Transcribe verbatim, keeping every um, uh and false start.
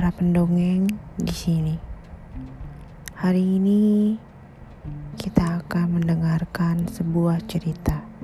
para pendongeng di sini. Hari ini kita akan mendengarkan sebuah cerita.